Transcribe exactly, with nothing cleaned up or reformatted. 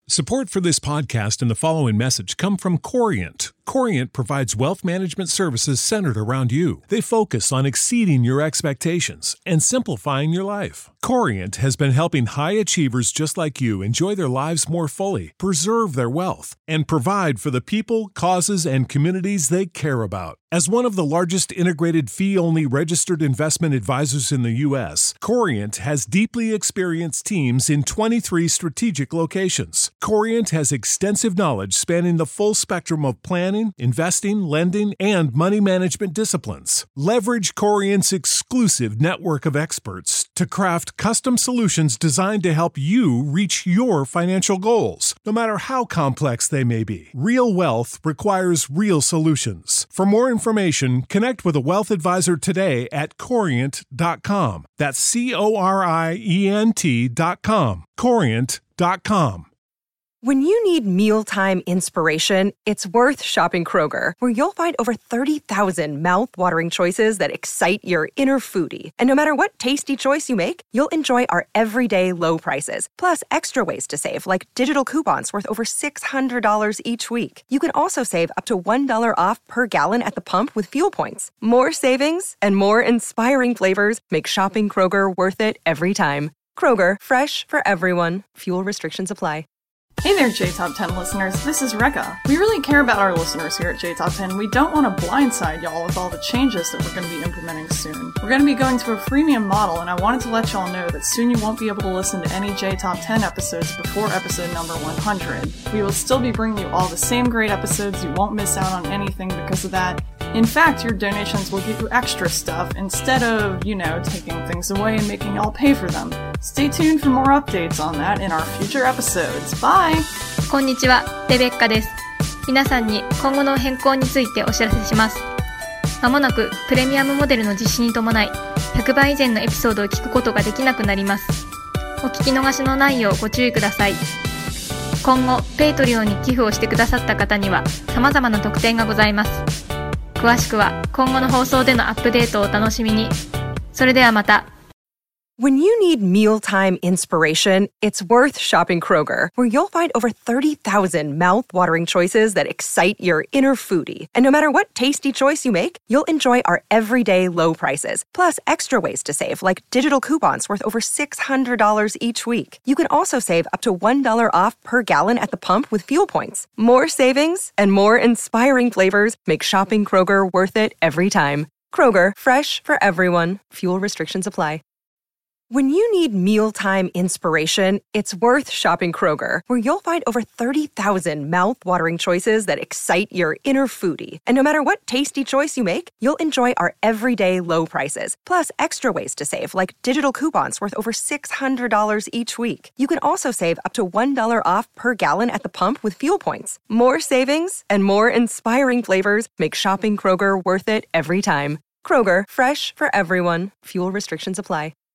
Support for this podcast and the following message come from Corient. Corient provides wealth management services centered around you. They focus on exceeding your expectations and simplifying your life. Corient has been helping high achievers just like you enjoy their lives more fully, preserve their wealth, and provide for the people, causes, and communities they care about. As one of the largest integrated fee-only registered investment advisors in the U S, Corient has deeply experienced teams in twenty-three strategic locations. Corient has extensive knowledge spanning the full spectrum of planning, investing, lending, and money management disciplines. Leverage Corient's exclusive network of experts to craft custom solutions designed to help you reach your financial goals, no matter how complex they may be. Real wealth requires real solutions. For more information, connect with a wealth advisor today at corient dot com. That's C O R I E N T dot com. corient dot com. When you need mealtime inspiration, it's worth shopping Kroger, where you'll find over thirty thousand mouth-watering choices that excite your inner foodie. And no matter what tasty choice you make, you'll enjoy our everyday low prices, plus extra ways to save, like digital coupons worth over six hundred dollars each week. You can also save up to one dollar off per gallon at the pump with fuel points. More savings and more inspiring flavors make shopping Kroger worth it every time. Kroger, fresh for everyone. Fuel restrictions apply. Hey there, J Top ten listeners. This is Rekka. We really care about our listeners here at J Top ten. We don't want to blindside y'all with all the changes that we're going to be implementing soon. We're going to be going to a freemium model, and I wanted to let y'all know that soon you won't be able to listen to any J Top ten episodes before episode number one hundred. We will still be bringing you all the same great episodes. You won't miss out on anything because of that. In fact, your donations will get you extra stuff instead of, you know, taking things away and making y'all pay for them. Stay tuned for more updates on that in our future episodes. Bye! こんにちは、レベッカです。皆さんに今後の変更についてお知らせします。まもなくプレミアムモデルの実施に伴い、ひゃくばい以前のエピソードを聞くことができなくなります。お聞き逃しのないようご注意ください。今後、ペイトリオンに寄付をしてくださった方には様々な特典がございます。詳しくは今後の放送でのアップデートをお楽しみに。それではまた。 When you need mealtime inspiration, it's worth shopping Kroger, where you'll find over thirty thousand mouth-watering choices that excite your inner foodie. And no matter what tasty choice you make, you'll enjoy our everyday low prices, plus extra ways to save, like digital coupons worth over six hundred dollars each week. You can also save up to one dollar off per gallon at the pump with fuel points. More savings and more inspiring flavors make shopping Kroger worth it every time. Kroger, fresh for everyone. Fuel restrictions apply. When you need mealtime inspiration, it's worth shopping Kroger, where you'll find over thirty thousand mouth-watering choices that excite your inner foodie. And no matter what tasty choice you make, you'll enjoy our everyday low prices, plus extra ways to save, like digital coupons worth over six hundred dollars each week. You can also save up to one dollar off per gallon at the pump with fuel points. More savings and more inspiring flavors make shopping Kroger worth it every time. Kroger, fresh for everyone. Fuel restrictions apply.